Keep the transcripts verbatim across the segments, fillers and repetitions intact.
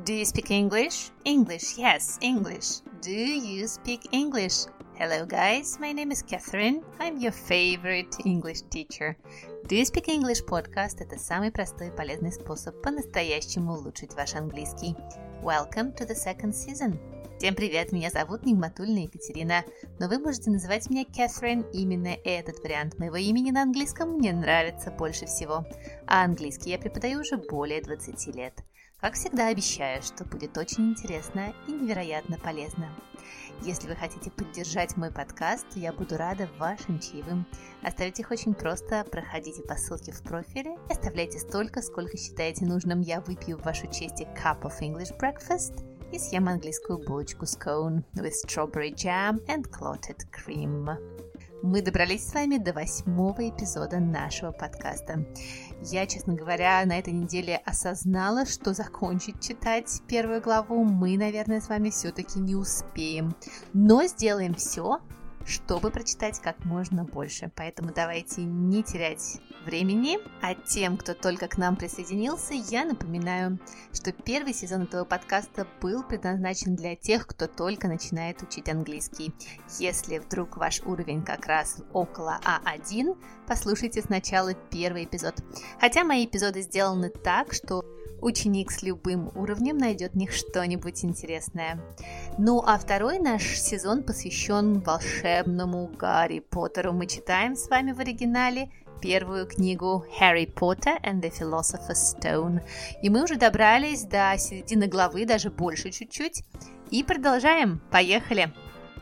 Do you speak English? English, yes, English. Do you speak English? Hello guys, my name is Catherine. I'm your favorite English teacher. Do you speak English podcast – это самый простой и полезный способ по-настоящему улучшить ваш английский. Welcome to the second season. Всем привет, меня зовут Нигматульна Екатерина, но вы можете называть меня Catherine. Именно этот вариант моего имени на английском мне нравится больше всего. А английский я преподаю уже более двадцати лет. Как всегда, обещаю, что будет очень интересно и невероятно полезно. Если вы хотите поддержать мой подкаст, то я буду рада вашим чаевым. Оставить их очень просто. Проходите по ссылке в профиле и оставляйте столько, сколько считаете нужным. Я выпью в вашу честь cup of English breakfast и съем английскую булочку scone with strawberry jam and clotted cream. Мы добрались с вами до восьмого эпизода нашего подкаста. Я, честно говоря, на этой неделе осознала, что закончить читать первую главу мы, наверное, с вами все-таки не успеем. Но сделаем все, чтобы прочитать как можно больше. Поэтому давайте не терять времени. А тем, кто только к нам присоединился, я напоминаю, что первый сезон этого подкаста был предназначен для тех, кто только начинает учить английский. Если вдруг ваш уровень как раз около а один, послушайте сначала первый эпизод. Хотя мои эпизоды сделаны так, что ученик с любым уровнем найдет в них что-нибудь интересное. Ну а второй наш сезон посвящен волшебному Гарри Поттеру. Мы читаем с вами в оригинале первую книгу Harry Potter and the Philosopher's Stone. И мы уже добрались до середины главы, даже больше чуть-чуть. И продолжаем. Поехали!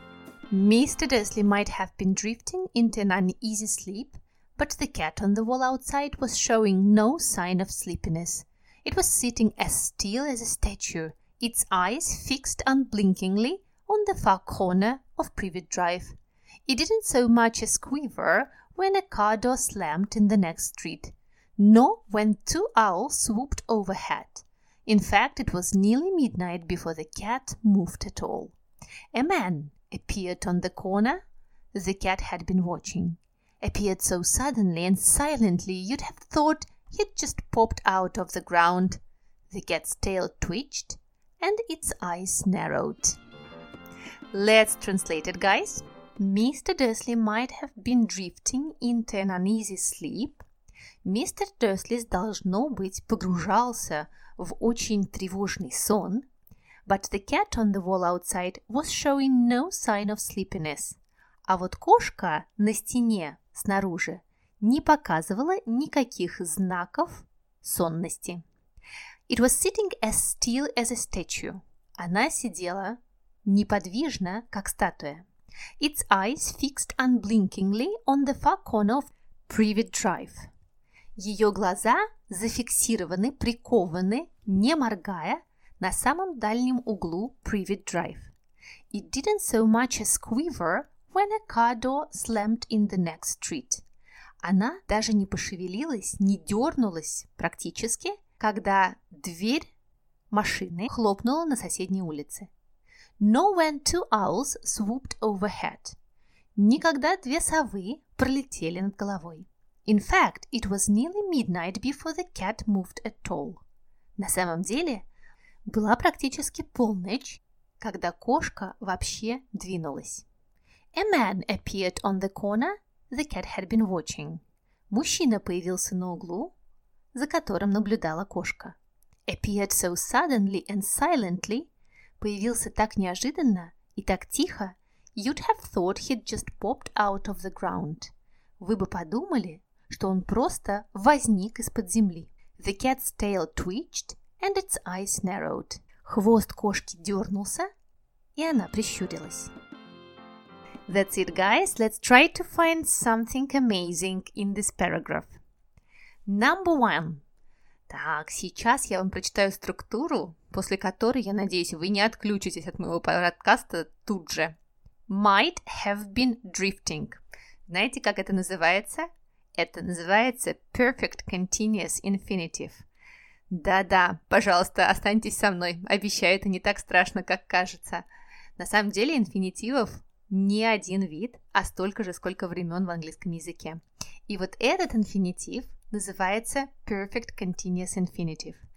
Mister Dursley might have been drifting into an uneasy sleep, but the cat on the wall outside was showing no sign of sleepiness. It was sitting as still as a statue, its eyes fixed unblinkingly on the far corner of Privet Drive. It didn't so much as quiver when a car door slammed in the next street, nor when two owls swooped overhead. In fact, it was nearly midnight before the cat moved at all. A man appeared on the corner the cat had been watching. Appeared so suddenly and silently you'd have thought he'd just popped out of the ground. The cat's tail twitched and its eyes narrowed. Let's translate it, guys. Mister Dursley might have been drifting into an uneasy sleep. Мистер Дерсли, должно быть, погружался в очень тревожный сон. But the cat on the wall outside was showing no sign of sleepiness. А вот кошка на стене снаружи не показывала никаких знаков сонности. It was sitting as still as a statue. Она сидела неподвижно, как статуя. Its eyes fixed unblinkingly on the far corner of Privet Drive. Ее глаза зафиксированы, прикованы, не моргая, на самом дальнем углу Privet Drive. It didn't so much as quiver when a car door slammed in the next street. Она даже не пошевелилась, не дернулась практически, когда дверь машины хлопнула на соседней улице. Nor when two owls swooped overhead. Никогда две совы пролетели над головой. In fact, it was nearly midnight before the cat moved at all. На самом деле, была практически полночь, когда кошка вообще двинулась. A man appeared on the corner the cat had been watching. Мужчина появился на углу, за которым наблюдала кошка. Appeared so suddenly and silently. Появился так неожиданно и так тихо. You'd have thought he'd just popped out of the ground. Вы бы подумали, что он просто возник из-под земли. The cat's tail twitched and its eyes narrowed. Хвост кошки дернулся, и она прищурилась. That's it, guys. Let's try to find something amazing in this paragraph. Number one. Так, сейчас я вам прочитаю структуру, после которой, я надеюсь, вы не отключитесь от моего подкаста тут же. Might have been drifting. Знаете, как это называется? Это называется perfect continuous infinitive. Да-да, пожалуйста, останьтесь со мной. Обещаю, это не так страшно, как кажется. На самом деле, инфинитивов не один вид, а столько же, сколько времен в английском языке. И вот этот инфинитив называется perfect continuous infinitive.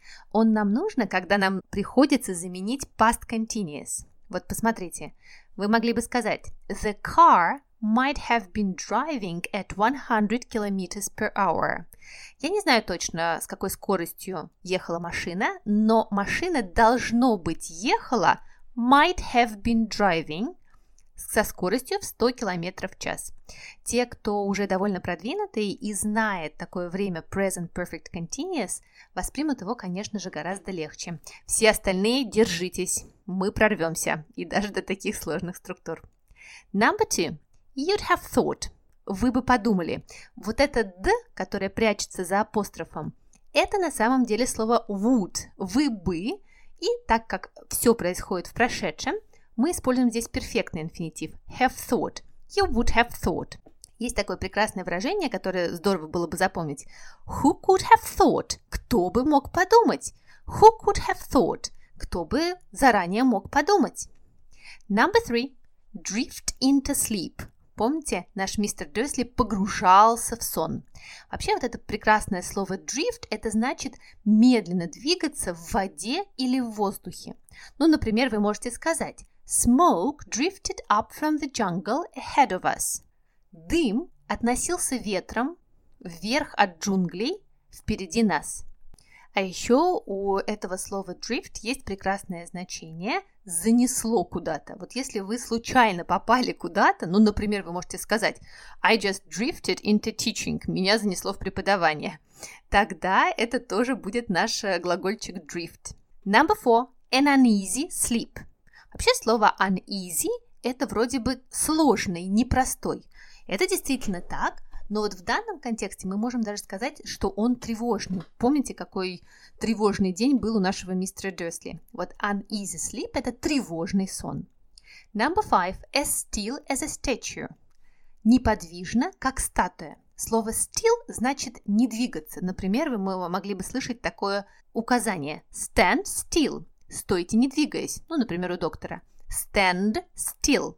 Он нам нужен, когда нам приходится заменить past continuous. Вот посмотрите, вы могли бы сказать The car might have been driving at one hundred kilometers per hour. Я не знаю точно, с какой скоростью ехала машина, но машина, должно быть, ехала might have been driving со скоростью в сто километров в час. Те, кто уже довольно продвинутые и знает такое время present perfect continuous, воспримут его, конечно же, гораздо легче. Все остальные держитесь, мы прорвемся, и даже до таких сложных структур. Number two. You'd have thought. Вы бы подумали. Вот это «д», которое прячется за апострофом, это на самом деле слово would. Вы бы. И так как все происходит в прошедшем, мы используем здесь перфектный инфинитив have thought. You would have thought. Есть такое прекрасное выражение, которое здорово было бы запомнить. Who could have thought? Кто бы мог подумать? Who could have thought? Кто бы заранее мог подумать? Number three. Drift into sleep. Помните, наш мистер Дерсли погружался в сон. Вообще вот это прекрасное слово drift, это значит медленно двигаться в воде или в воздухе. Ну, например, вы можете сказать Smoke drifted up from the jungle ahead of us. Дым относился ветром вверх от джунглей впереди нас. А еще у этого слова drift есть прекрасное значение «занесло куда-то». Вот если вы случайно попали куда-то, ну, например, вы можете сказать I just drifted into teaching. Меня занесло в преподавание. Тогда это тоже будет наш глагольчик drift. Number four. An uneasy sleep. Вообще слово uneasy – это вроде бы сложный, непростой. Это действительно так, но вот в данном контексте мы можем даже сказать, что он тревожный. Помните, какой тревожный день был у нашего мистера Дерсли? Вот uneasy sleep – это тревожный сон. Number five. As still as a statue. Неподвижно, как статуя. Слово still значит не двигаться. Например, вы могли бы слышать такое указание stand still. Стойте, не двигаясь. Ну, например, у доктора. Stand still.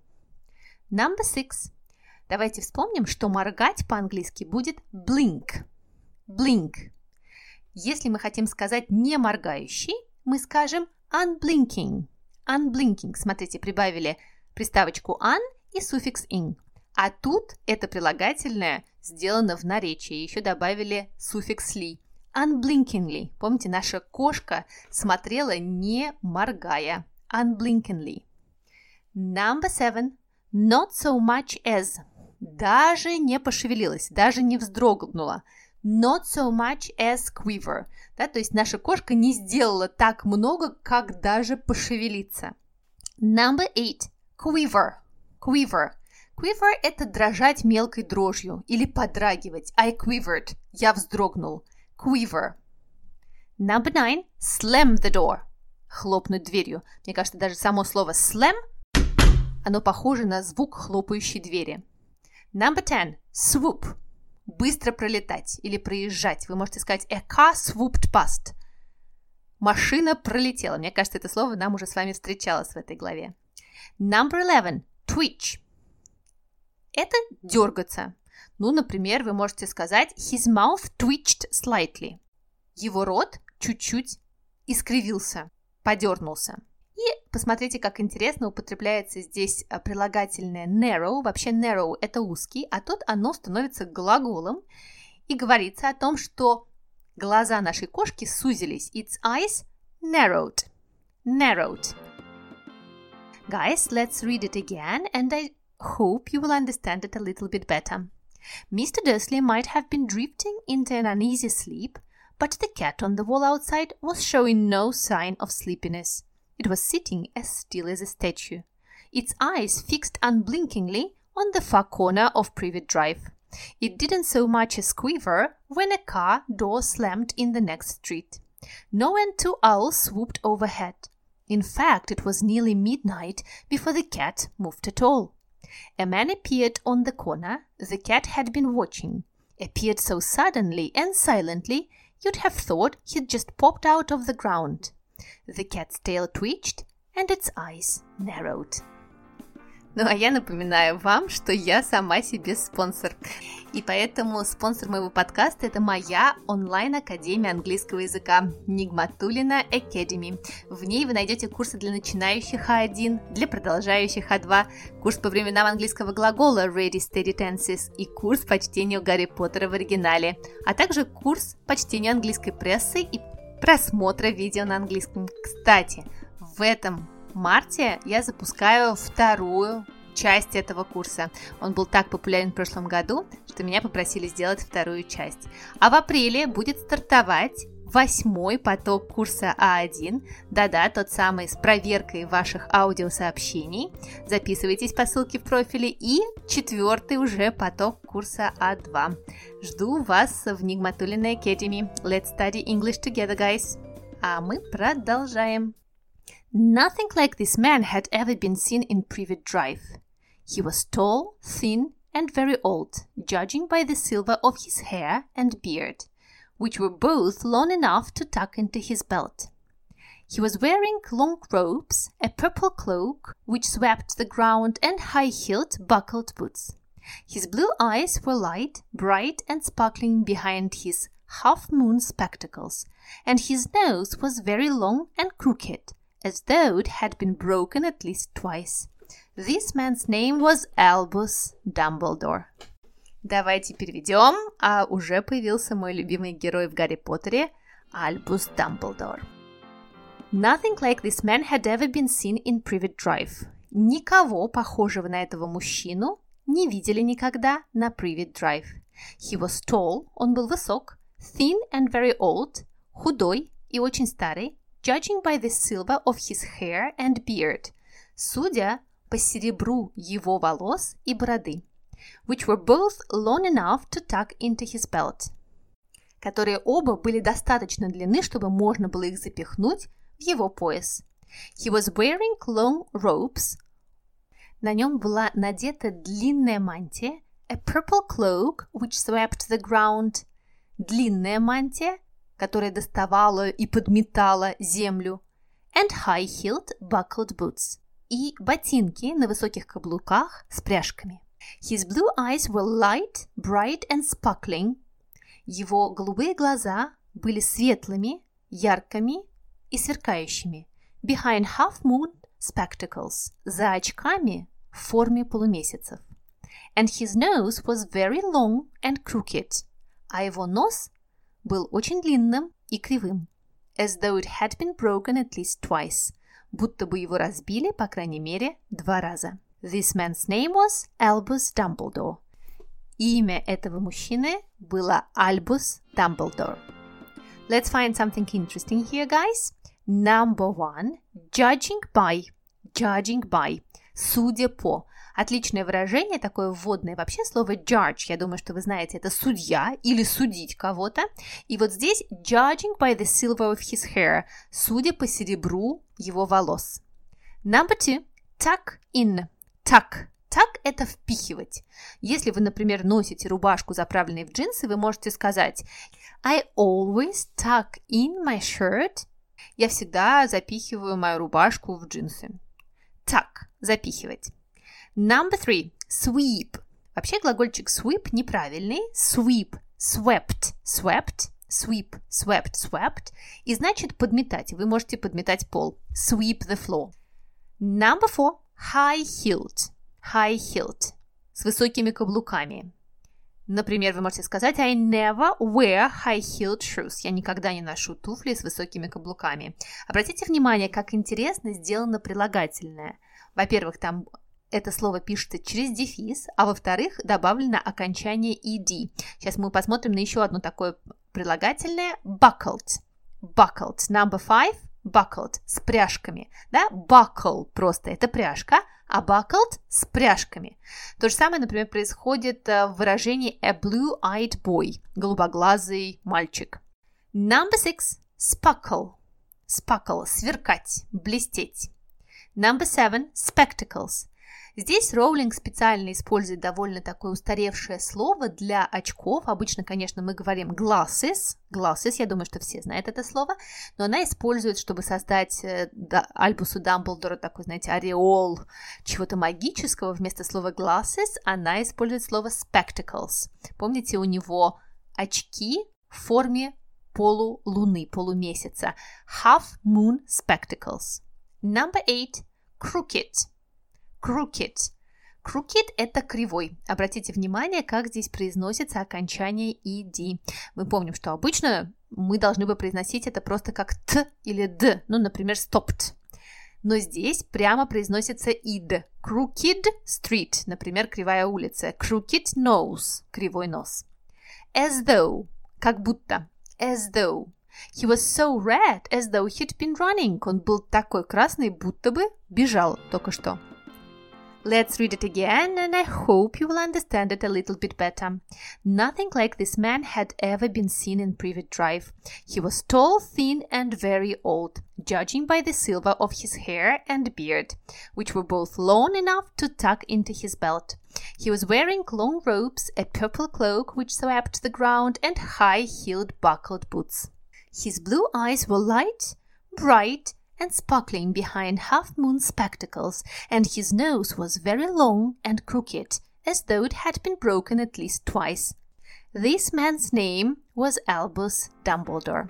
Number six. Давайте вспомним, что моргать по-английски будет blink. Blink. Если мы хотим сказать не моргающий, мы скажем unblinking. Unblinking. Смотрите, прибавили приставочку un и суффикс ing. А тут это прилагательное сделано в наречии. Еще добавили суффикс ли. Unblinkingly. Помните, наша кошка смотрела не моргая. Unblinkingly. Number seven. Not so much as. Даже не пошевелилась, даже не вздрогнула. Not so much as quiver. Да, то есть наша кошка не сделала так много, как даже пошевелиться. Number eight. Quiver. Quiver. Quiver – это дрожать мелкой дрожью или подрагивать. I quivered. Я вздрогнул. Quiver. Number nine. Slam the door. Хлопнуть дверью. Мне кажется, даже само слово slam, оно похоже на звук хлопающей двери. Number ten. Swoop. Быстро пролетать или проезжать. Вы можете сказать a car swooped past. Машина пролетела. Мне кажется, это слово нам уже с вами встречалось в этой главе. Number eleven. Twitch. Это дергаться. Ну, например, вы можете сказать his mouth twitched slightly. Его рот чуть-чуть искривился, подернулся. И посмотрите, как интересно употребляется здесь прилагательное narrow. Вообще narrow – это узкий, а тут оно становится глаголом. И говорится о том, что глаза нашей кошки сузились. Its eyes narrowed. Narrowed. Guys, let's read it again, and I hope you will understand it a little bit better. Mister Dursley might have been drifting into an uneasy sleep, but the cat on the wall outside was showing no sign of sleepiness. It was sitting as still as a statue, its eyes fixed unblinkingly on the far corner of Privet Drive. It didn't so much as quiver when a car door slammed in the next street. No one two owls swooped overhead. In fact, it was nearly midnight before the cat moved at all. A man appeared on the corner the cat had been watching, appeared so suddenly and silently you'd have thought he'd just popped out of the ground. The cat's tail twitched and its eyes narrowed. Ну а я напоминаю вам, что я сама себе спонсор. И поэтому спонсор моего подкаста – это моя онлайн-академия английского языка Нигматуллина Academy. В ней вы найдете курсы для начинающих а один, для продолжающих а два, курс по временам английского глагола Ready Steady Tenses и курс по чтению Гарри Поттера в оригинале, а также курс по чтению английской прессы и просмотра видео на английском. Кстати, в этом марте я запускаю вторую часть этого курса. Он был так популярен в прошлом году, что меня попросили сделать вторую часть. А в апреле будет стартовать восьмой поток курса а один. Да-да, тот самый с проверкой ваших аудиосообщений. Записывайтесь по ссылке в профиле. И четвертый уже поток курса а два. Жду вас в Нигматуллина Academy. Let's study English together, guys. А мы продолжаем. Nothing like this man had ever been seen in Privet Drive. He was tall, thin, and very old, judging by the silver of his hair and beard, which were both long enough to tuck into his belt. He was wearing long robes, a purple cloak, which swept the ground, and high-heeled, buckled boots. His blue eyes were light, bright, and sparkling behind his half-moon spectacles, and his nose was very long and crooked, as though it had been broken at least twice. This man's name was Albus Dumbledore. Давайте переведем, а уже появился мой любимый герой в Гарри Поттере, Альбус Дамблдор. Nothing like this man had ever been seen in Privet Drive. Никого похожего на этого мужчину не видели никогда на Privet Drive. He was tall, он был высок, thin and very old, худой и очень старый, judging by the silver of his hair and beard, судя по серебру его волос и бороды, which were both long enough to tuck into his belt, которые оба были достаточно длинны, чтобы можно было их запихнуть в его пояс. He was wearing long robes. На нем была надета длинная мантия, a purple cloak which swept the ground, длинная мантия, которая доставала и подметала землю, and high-heeled buckled boots, и ботинки на высоких каблуках с пряжками. His blue eyes were light, bright and sparkling. Его голубые глаза были светлыми, яркими и сверкающими. Behind half-moon spectacles, за очками в форме полумесяцев. And his nose was very long and crooked, а его нос был очень длинным и кривым, as though it had been broken at least twice, будто бы его разбили, по крайней мере, два раза. This man's name was Albus Dumbledore. Имя этого мужчины было Альбус Дамблдор. Let's find something interesting here, guys. Number one, judging by. Judging by. Судя по. Отличное выражение, такое вводное вообще слово judge. Я думаю, что вы знаете, это судья или судить кого-то. И вот здесь judging by the silver of his hair. Судя по серебру его волос. Number two, tuck in. Tuck. Tuck – это впихивать. Если вы, например, носите рубашку, заправленную в джинсы, вы можете сказать I always tuck in my shirt. Я всегда запихиваю мою рубашку в джинсы. Tuck – запихивать. Number three. Sweep. Вообще глагольчик sweep неправильный. Sweep. Swept. Swept. Sweep. Swept. Swept. И значит подметать. Вы можете подметать пол. Sweep the floor. Number four. High-heeled. High-heeled. С высокими каблуками. Например, вы можете сказать I never wear high-heeled shoes. Я никогда не ношу туфли с высокими каблуками. Обратите внимание, как интересно сделано прилагательное. Во-первых, там это слово пишется через дефис, а во-вторых, добавлено окончание ed. Сейчас мы посмотрим на еще одно такое прилагательное. Buckled. Buckled. Number five. Buckled. С пряжками. Да? Buckle просто это пряжка, а buckled с пряжками. То же самое, например, происходит в выражении a blue-eyed boy. Голубоглазый мальчик. Number six. Sparkle. Sparkle. Сверкать. Блестеть. Number seven. Spectacles. Здесь Роулинг специально использует довольно такое устаревшее слово для очков. Обычно, конечно, мы говорим glasses. Glasses, я думаю, что все знают это слово. Но она использует, чтобы создать да, Альбусу Дамблдору такой, знаете, ореол чего-то магического. Вместо слова glasses она использует слово spectacles. Помните, у него очки в форме полулуны, полумесяца. Half moon spectacles. Number eight. Crooked. Crooked. Crooked – это кривой. Обратите внимание, как здесь произносится окончание «ed». Мы помним, что обычно мы должны бы произносить это просто как «т» или «д», ну, например, stopped. Но здесь прямо произносится «id». Crooked street, например, кривая улица. Crooked nose – кривой нос. As though – как будто. As though. He was so red, as though he'd been running. Он был такой красный, будто бы бежал только что. Let's read it again, and I hope you will understand it a little bit better. Nothing like this man had ever been seen in Privet Drive. He was tall, thin, and very old, judging by the silver of his hair and beard, which were both long enough to tuck into his belt. He was wearing long robes, a purple cloak which swept the ground, and high-heeled buckled boots. His blue eyes were light, bright, and sparkling behind half-moon spectacles, and his nose was very long and crooked, as though it had been broken at least twice. This man's name was Albus Dumbledore.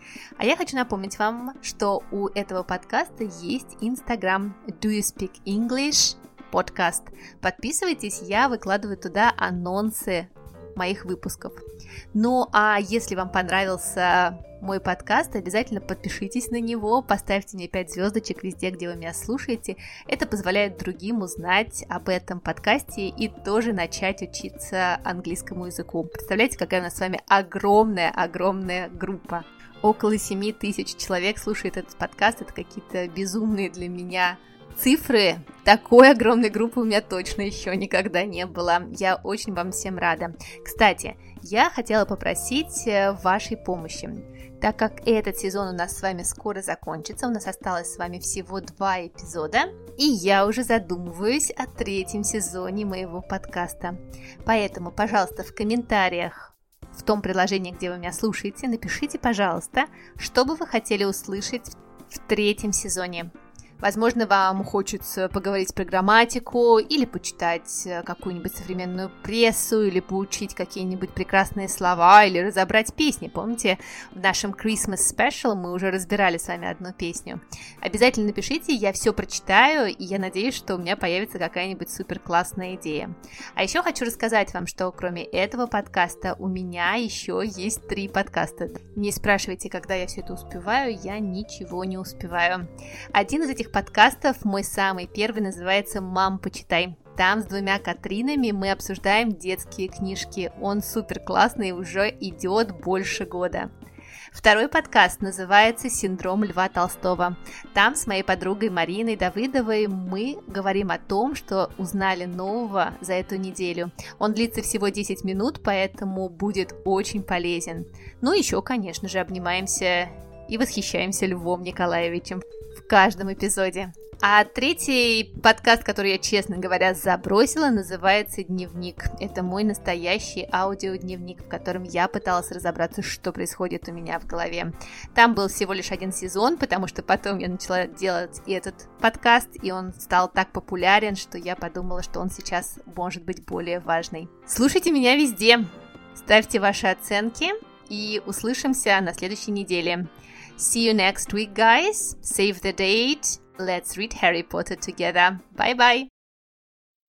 А я хочу напомнить вам, что у этого подкаста есть Instagram Do You Speak English подкаст. Подписывайтесь, я выкладываю туда анонсы моих выпусков. Ну, а если вам понравился мой подкаст, обязательно подпишитесь на него, поставьте мне пять звездочек везде, где вы меня слушаете. Это позволяет другим узнать об этом подкасте и тоже начать учиться английскому языку. Представляете, какая у нас с вами огромная-огромная группа. Около семь тысяч человек слушает этот подкаст. Это какие-то безумные для меня цифры. Такой огромной группы у меня точно еще никогда не было. Я очень вам всем рада. Кстати, я хотела попросить вашей помощи. Так как этот сезон у нас с вами скоро закончится, у нас осталось с вами всего два эпизода, и я уже задумываюсь о третьем сезоне моего подкаста. Поэтому, пожалуйста, в комментариях в том приложении, где вы меня слушаете, напишите, пожалуйста, что бы вы хотели услышать в третьем сезоне. Возможно, вам хочется поговорить про грамматику, или почитать какую-нибудь современную прессу, или поучить какие-нибудь прекрасные слова, или разобрать песни. Помните, в нашем Christmas Special мы уже разбирали с вами одну песню. Обязательно напишите, я все прочитаю, и я надеюсь, что у меня появится какая-нибудь супер классная идея. А еще хочу рассказать вам, что кроме этого подкаста у меня еще есть три подкаста. Не спрашивайте, когда я все это успеваю, я ничего не успеваю. Один из этих подкастов, мой самый первый, называется «Мам, почитай». Там с двумя Катринами мы обсуждаем детские книжки. Он супер классный, уже идет больше года. Второй подкаст называется «Синдром Льва Толстого». Там с моей подругой Мариной Давыдовой мы говорим о том, что узнали нового за эту неделю. Он длится всего десять минут, поэтому будет очень полезен. Ну, еще, конечно же, обнимаемся и восхищаемся Львом Николаевичем в каждом эпизоде. А третий подкаст, который я, честно говоря, забросила, называется «Дневник». Это мой настоящий аудиодневник, в котором я пыталась разобраться, что происходит у меня в голове. Там был всего лишь один сезон, потому что потом я начала делать и этот подкаст, и он стал так популярен, что я подумала, что он сейчас может быть более важный. Слушайте меня везде, ставьте ваши оценки, и услышимся на следующей неделе. See you next week, guys. Save the date. Let's read Harry Potter together. Bye bye.